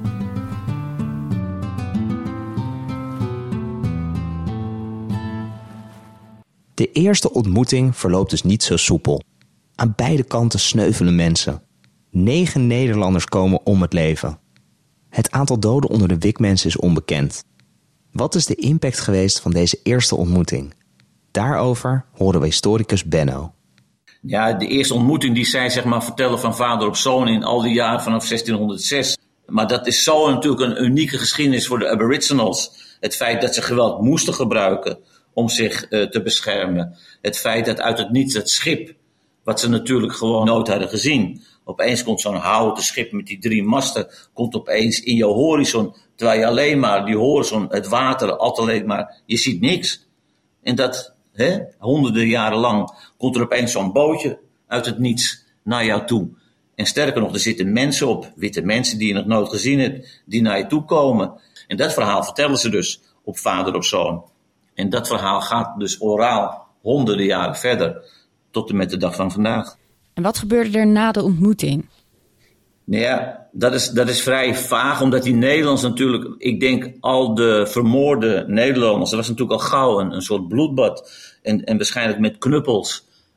De eerste ontmoeting verloopt dus niet zo soepel. Aan beide kanten sneuvelen mensen. Negen Nederlanders komen om het leven. Het aantal doden onder de Wik-mensen is onbekend. Wat is de impact geweest van deze eerste ontmoeting? Daarover horen we historicus Benno. Ja, de eerste ontmoeting die zij zeg maar vertellen van vader op zoon in al die jaren vanaf zestienhonderdzes. Maar dat is zo natuurlijk een unieke geschiedenis voor de Aboriginals. Het feit dat ze geweld moesten gebruiken om zich uh, te beschermen. Het feit dat uit het niets het schip, wat ze natuurlijk gewoon nooit hadden gezien. Opeens komt zo'n houten schip met die drie masten, komt opeens in je horizon. Terwijl je alleen maar die horizon, het water, altijd maar, je ziet niks. En dat, hè, honderden jaren lang, komt er opeens zo'n bootje uit het niets naar jou toe. En sterker nog, er zitten mensen op, witte mensen die je nog nooit gezien hebt, die naar je toe komen. En dat verhaal vertellen ze dus op vader op zoon. En dat verhaal gaat dus oraal honderden jaren verder, tot en met de dag van vandaag. En wat gebeurde er na de ontmoeting? Nou ja, dat is, dat is vrij vaag, omdat die Nederlanders natuurlijk, ik denk al de vermoorde Nederlanders, dat was natuurlijk al gauw een, een soort bloedbad. En, en waarschijnlijk met knuppels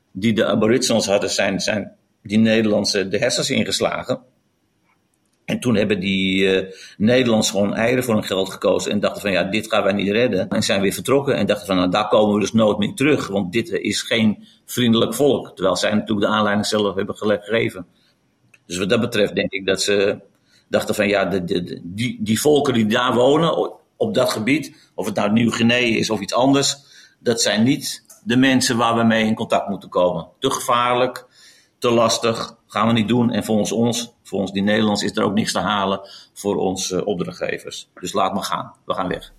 die de aboriginals hadden, zijn, zijn die Nederlandse de hersens ingeslagen. En toen hebben die uh, Nederlanders gewoon eieren voor hun geld gekozen en dachten van ja, dit gaan wij niet redden. En zijn weer vertrokken en dachten van nou, daar komen we dus nooit meer terug, want dit is geen vriendelijk volk. Terwijl zij natuurlijk de aanleiding zelf hebben gegeven. Dus wat dat betreft denk ik dat ze dachten van ja, de, de, de, die, die volken die daar wonen op dat gebied, of het nou Nieuw-Guinea is of iets anders, dat zijn niet de mensen waar we mee in contact moeten komen. Te gevaarlijk, te lastig, gaan we niet doen. En volgens ons, volgens die Nederlanders, is er ook niks te halen voor onze uh, opdrachtgevers. Dus laat maar gaan, we gaan weg.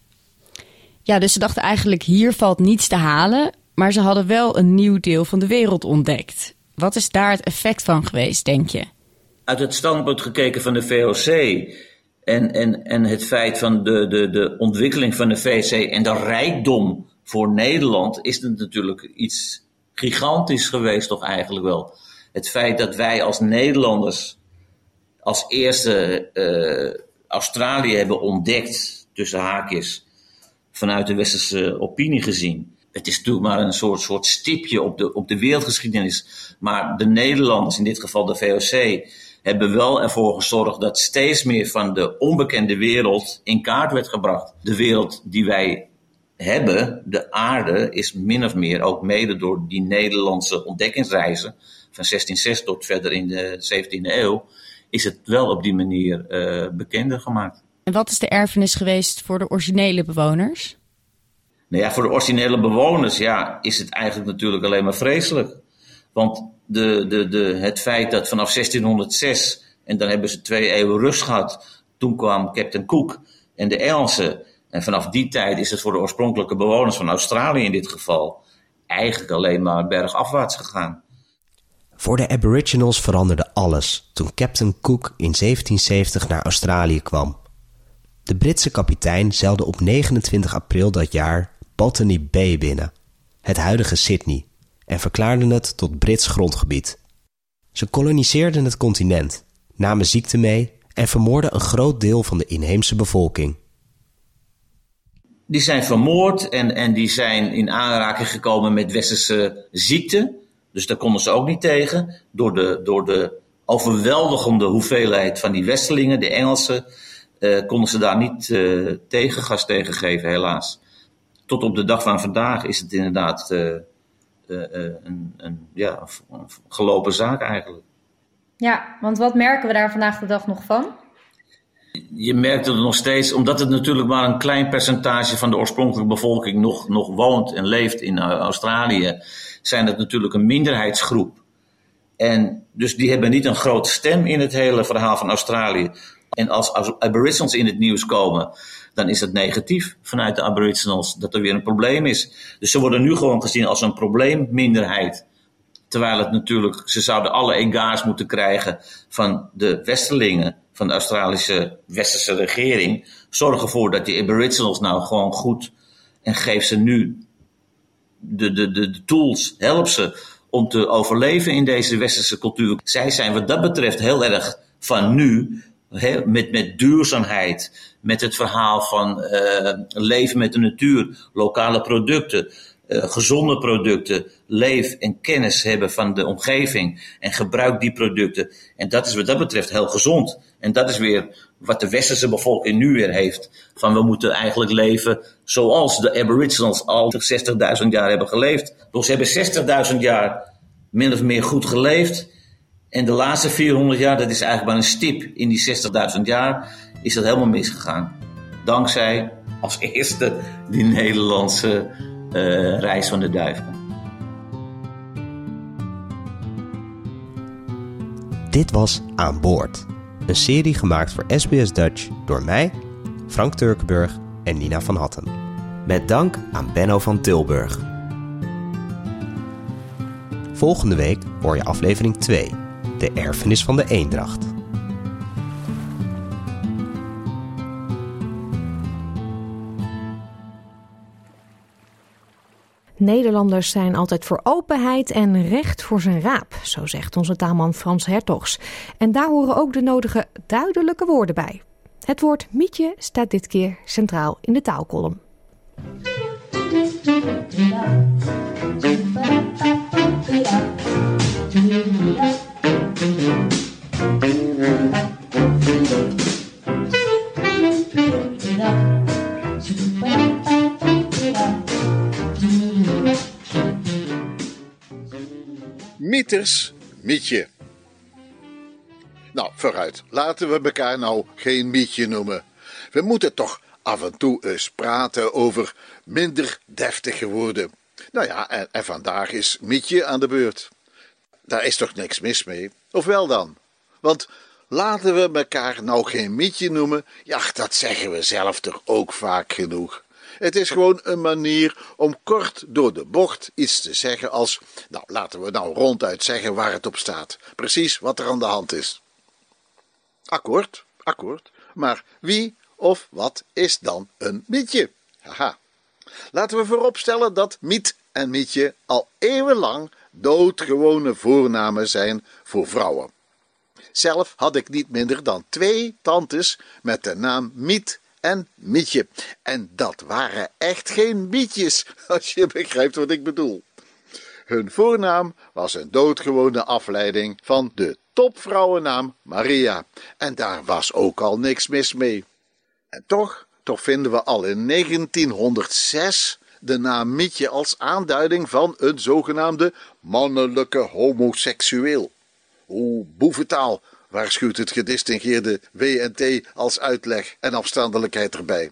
Ja, dus ze dachten eigenlijk hier valt niets te halen, maar ze hadden wel een nieuw deel van de wereld ontdekt. Wat is daar het effect van geweest, denk je? Uit het standpunt gekeken van de V O C en, en, en het feit van de, de, de ontwikkeling van de V O C en de rijkdom voor Nederland, is het natuurlijk iets gigantisch geweest toch eigenlijk wel. Het feit dat wij als Nederlanders als eerste uh, Australië hebben ontdekt, tussen haakjes, vanuit de westerse opinie gezien. Het is natuurlijk maar een soort, soort stipje op de, op de wereldgeschiedenis. Maar de Nederlanders, in dit geval de V O C, hebben wel ervoor gezorgd dat steeds meer van de onbekende wereld in kaart werd gebracht. De wereld die wij hebben, de aarde, is min of meer ook mede door die Nederlandse ontdekkingsreizen van zestienzestig tot verder in de zeventiende eeuw, is het wel op die manier uh, bekender gemaakt. En wat is de erfenis geweest voor de originele bewoners? Nou ja, voor de originele bewoners ja, is het eigenlijk natuurlijk alleen maar vreselijk. Want de, de, de, het feit dat vanaf zestienhonderdzes, en dan hebben ze twee eeuwen rust gehad, toen kwam Captain Cook en de Engelsen. En vanaf die tijd is het voor de oorspronkelijke bewoners van Australië in dit geval eigenlijk alleen maar bergafwaarts gegaan. Voor de Aboriginals veranderde alles toen Captain Cook in zeventienzeventig naar Australië kwam. De Britse kapitein zeilde op negenentwintig april dat jaar Botany Bay binnen, het huidige Sydney, en verklaarden het tot Brits grondgebied. Ze koloniseerden het continent, namen ziekte mee en vermoorden een groot deel van de inheemse bevolking. Die zijn vermoord en, en die zijn in aanraking gekomen met westerse ziekten. Dus daar konden ze ook niet tegen. Door de, door de overweldigende hoeveelheid van die westerlingen, de Engelsen, uh, konden ze daar niet uh, tegengas tegen geven, helaas. Tot op de dag van vandaag is het inderdaad uh, uh, uh, een, een, ja, een gelopen zaak eigenlijk. Ja, want wat merken we daar vandaag de dag nog van? Je merkt het nog steeds, omdat het natuurlijk maar een klein percentage van de oorspronkelijke bevolking nog, nog woont en leeft in Australië, zijn het natuurlijk een minderheidsgroep. En dus die hebben niet een grote stem in het hele verhaal van Australië. En als Aboriginals in het nieuws komen, dan is het negatief vanuit de Aboriginals dat er weer een probleem is. Dus ze worden nu gewoon gezien als een probleemminderheid. Terwijl het natuurlijk, ze zouden alle egaars moeten krijgen van de westerlingen, van de Australische westerse regering. Zorg ervoor dat die Aboriginals nou gewoon goed, en geef ze nu de, de, de, de tools, help ze om te overleven in deze westerse cultuur. Zij zijn wat dat betreft heel erg van nu, he, met, met duurzaamheid, met het verhaal van uh, leven met de natuur, lokale producten, uh, gezonde producten, leef en kennis hebben van de omgeving en gebruik die producten. En dat is wat dat betreft heel gezond. En dat is weer wat de westerse bevolking nu weer heeft. Van we moeten eigenlijk leven zoals de Aboriginals al zestigduizend jaar hebben geleefd. Dus ze hebben zestigduizend jaar min of meer goed geleefd. En de laatste vierhonderd jaar, dat is eigenlijk maar een stip in die zestigduizend jaar, is dat helemaal misgegaan. Dankzij als eerste die Nederlandse uh, reis van de duiven. Dit was Aan Boord. Een serie gemaakt voor S B S Dutch door mij, Frank Turkenburg en Nina van Hatten. Met dank aan Benno van Tilburg. Volgende week hoor je aflevering twee, de erfenis van de eendracht. Nederlanders zijn altijd voor openheid en recht voor zijn raap, zo zegt onze taalman Frans Hertogs. En daar horen ook de nodige duidelijke woorden bij. Het woord mietje staat dit keer centraal in de taalkolom. Mieters, Mietje. Nou, vooruit. Laten we elkaar nou geen Mietje noemen. We moeten toch af en toe eens praten over minder deftige woorden. Nou ja, en, en vandaag is Mietje aan de beurt. Daar is toch niks mis mee? Of wel dan? Want laten we elkaar nou geen Mietje noemen. Ja, dat zeggen we zelf toch ook vaak genoeg. Het is gewoon een manier om kort door de bocht iets te zeggen als... Nou, laten we nou ronduit zeggen waar het op staat. Precies wat er aan de hand is. Akkoord, akkoord. Maar wie of wat is dan een Mietje? Haha. Laten we vooropstellen dat Miet en Mietje al eeuwenlang doodgewone voornamen zijn voor vrouwen. Zelf had ik niet minder dan twee tantes met de naam Miet en Mietje. En dat waren echt geen Mietjes, als je begrijpt wat ik bedoel. Hun voornaam was een doodgewone afleiding van de topvrouwennaam Maria. En daar was ook al niks mis mee. En toch, toch vinden we al in negentienhonderdzes de naam Mietje als aanduiding van een zogenaamde mannelijke homoseksueel. Oeh, boeventaal, waarschuwt het gedistingeerde W N T als uitleg en afstandelijkheid erbij.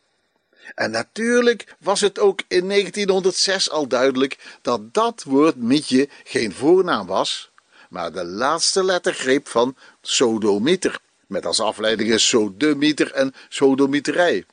En natuurlijk was het ook in negentienhonderdzes al duidelijk dat dat woord Mietje geen voornaam was, maar de laatste lettergreep van sodomieter, met als afleidingen sodemieter en sodomieterij.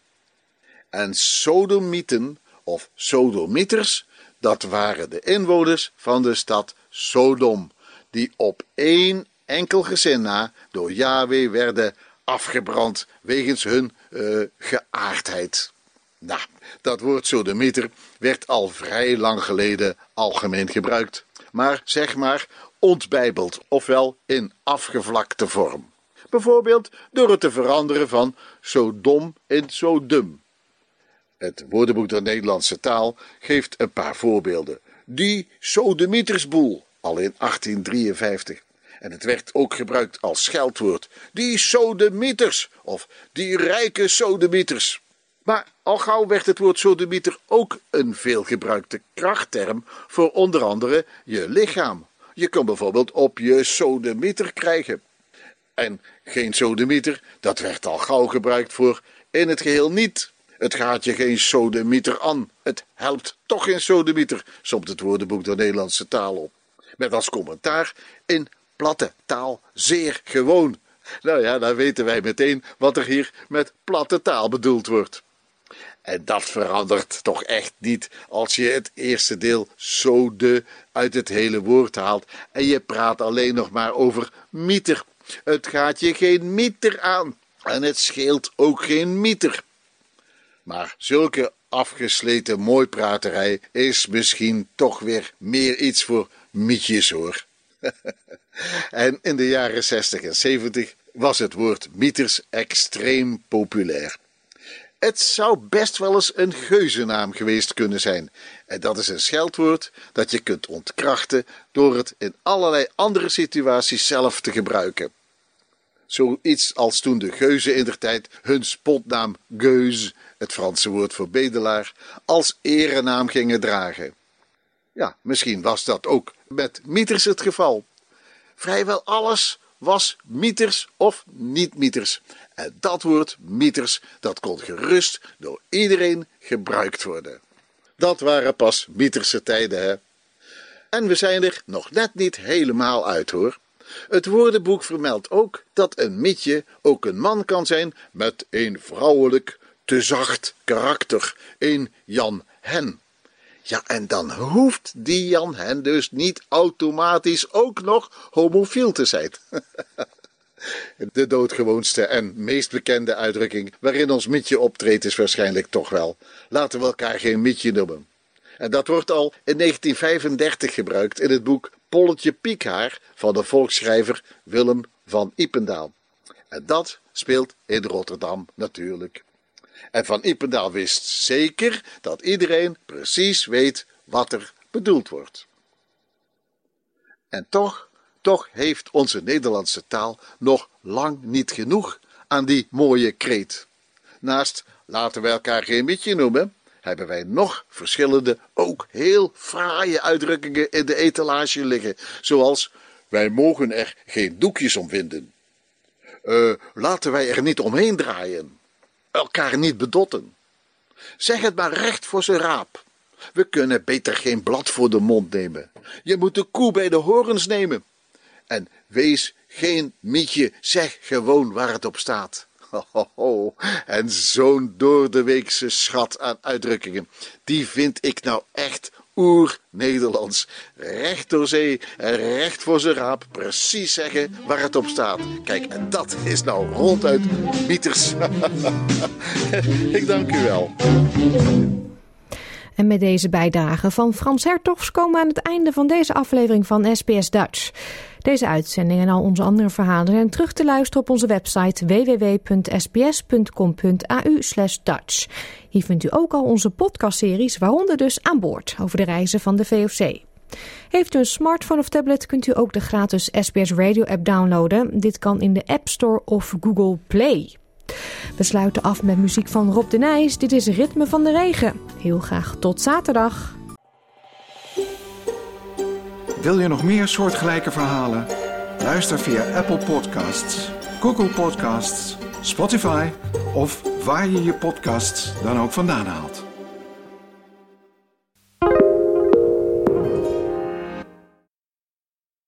En sodomieten of sodomieters, dat waren de inwoners van de stad Sodom, die op één enkel gezin na door Yahweh werden afgebrand wegens hun uh, geaardheid. Nou, dat woord sodemieter werd al vrij lang geleden algemeen gebruikt, maar zeg maar ontbijbeld, ofwel in afgevlakte vorm. Bijvoorbeeld door het te veranderen van Sodom in Sodum. Het woordenboek der Nederlandse taal geeft een paar voorbeelden. Die sodemietersboel, al in achttien drieënvijftig. En het werd ook gebruikt als scheldwoord. Die sodemieters, of die rijke sodemieters. Maar al gauw werd het woord sodemieter ook een veelgebruikte krachtterm voor onder andere je lichaam. Je kon bijvoorbeeld op je sodemieter krijgen. En geen sodemieter, dat werd al gauw gebruikt voor in het geheel niet. Het gaat je geen sodemieter aan. Het helpt toch geen sodemieter, somt het woordenboek der Nederlandse taal op. Met als commentaar in platte taal zeer gewoon. Nou ja, dan weten wij meteen wat er hier met platte taal bedoeld wordt. En dat verandert toch echt niet als je het eerste deel sode uit het hele woord haalt en je praat alleen nog maar over mieter. Het gaat je geen mieter aan en het scheelt ook geen mieter. Maar zulke afgesleten mooipraterij is misschien toch weer meer iets voor mietjes hoor. En in de jaren zestig en zeventig was het woord mieters extreem populair. Het zou best wel eens een geuzennaam geweest kunnen zijn. En dat is een scheldwoord dat je kunt ontkrachten door het in allerlei andere situaties zelf te gebruiken. Zoiets als toen de geuzen indertijd hun spotnaam geus, het Franse woord voor bedelaar, als erenaam gingen dragen. Ja, misschien was dat ook met mieters het geval. Vrijwel alles was mieters of niet-mieters. En dat woord mieters, dat kon gerust door iedereen gebruikt worden. Dat waren pas mieterse tijden, hè. En we zijn er nog net niet helemaal uit, hoor. Het woordenboek vermeldt ook dat een mietje ook een man kan zijn met een vrouwelijk, te zacht karakter, een Jan Hen. Ja, en dan hoeft die Jan Hen dus niet automatisch ook nog homofiel te zijn. De doodgewoonste en meest bekende uitdrukking waarin ons mietje optreedt is waarschijnlijk toch wel: laten we elkaar geen mietje noemen. En dat wordt al in negentien vijfendertig gebruikt in het boek Polletje Piekhaar van de volksschrijver Willem van Ypendael. En dat speelt in Rotterdam natuurlijk. En Van Ypendael wist zeker dat iedereen precies weet wat er bedoeld wordt. En toch, toch heeft onze Nederlandse taal nog lang niet genoeg aan die mooie kreet. Naast laten we elkaar geen mietje noemen, hebben wij nog verschillende, ook heel fraaie uitdrukkingen in de etalage liggen. Zoals, wij mogen er geen doekjes om winden. Uh, laten wij er niet omheen draaien. Elkaar niet bedotten. Zeg het maar recht voor zijn raap. We kunnen beter geen blad voor de mond nemen. Je moet de koe bij de horens nemen. En wees geen mietje, zeg gewoon waar het op staat. Ho, ho, ho. En zo'n doordeweekse schat aan uitdrukkingen, die vind ik nou echt oer-Nederlands. Recht door zee en recht voor zijn raap, precies zeggen waar het op staat. Kijk, en dat is nou ronduit Mieters. Ik dank u wel. En met deze bijdrage van Frans Hertogs komen we aan het einde van deze aflevering van S B S Dutch. Deze uitzending en al onze andere verhalen zijn terug te luisteren op onze website w w w punt s b s punt com punt a u slash Dutch. Hier vindt u ook al onze podcastseries, waaronder dus Aan Boord, over de reizen van de V O C. Heeft u een smartphone of tablet, kunt u ook de gratis S B S Radio app downloaden. Dit kan in de App Store of Google Play. We sluiten af met muziek van Rob de Nijs. Dit is Ritme van de Regen. Heel graag tot zaterdag. Wil je nog meer soortgelijke verhalen? Luister via Apple Podcasts, Google Podcasts, Spotify of waar je je podcasts dan ook vandaan haalt.